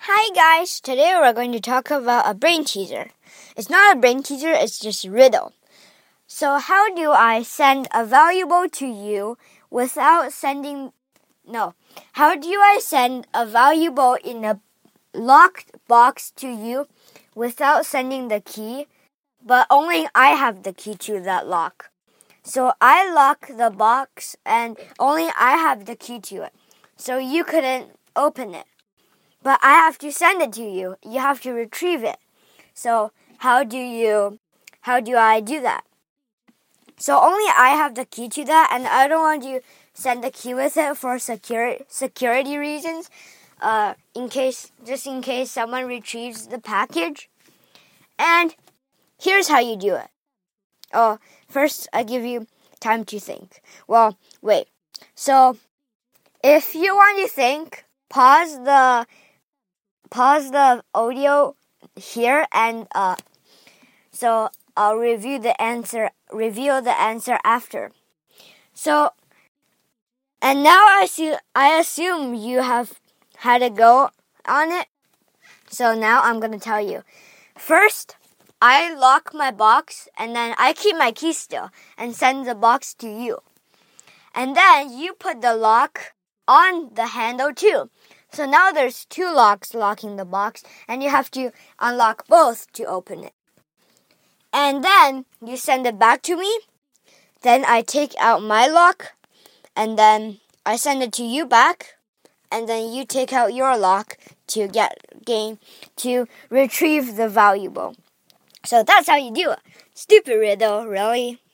Hi guys, today we're going to talk about a brain teaser. It's not a brain teaser, it's just a riddle. So how do I send a valuable to you without how do I send a valuable in a locked box to you without sending the key, but only I have the key to that lock? So I lock the box and only I have the key to it. So you couldn't open it. But I have to send it to you. You have to retrieve it. So how do I do that? So only I have the key to that, and I don't want you send the key with it for security reasons. In case someone retrieves the package. And here's how you do it. First I give you time to think. Well, wait. So if you want to think, pause the audio here, and so I'll reveal the answer after. So, and now I assume you have had a go on it. So now I'm going to tell you. First, I lock my box, and then I keep my key still and send the box to you. And then you put the lock on the handle too. So now there's two locks locking the box, and you have to unlock both to open it. And then you send it back to me. Then I take out my lock, and then I send it to you back. And then you take out your lock to retrieve the valuable. So that's how you do it. Stupid riddle, really.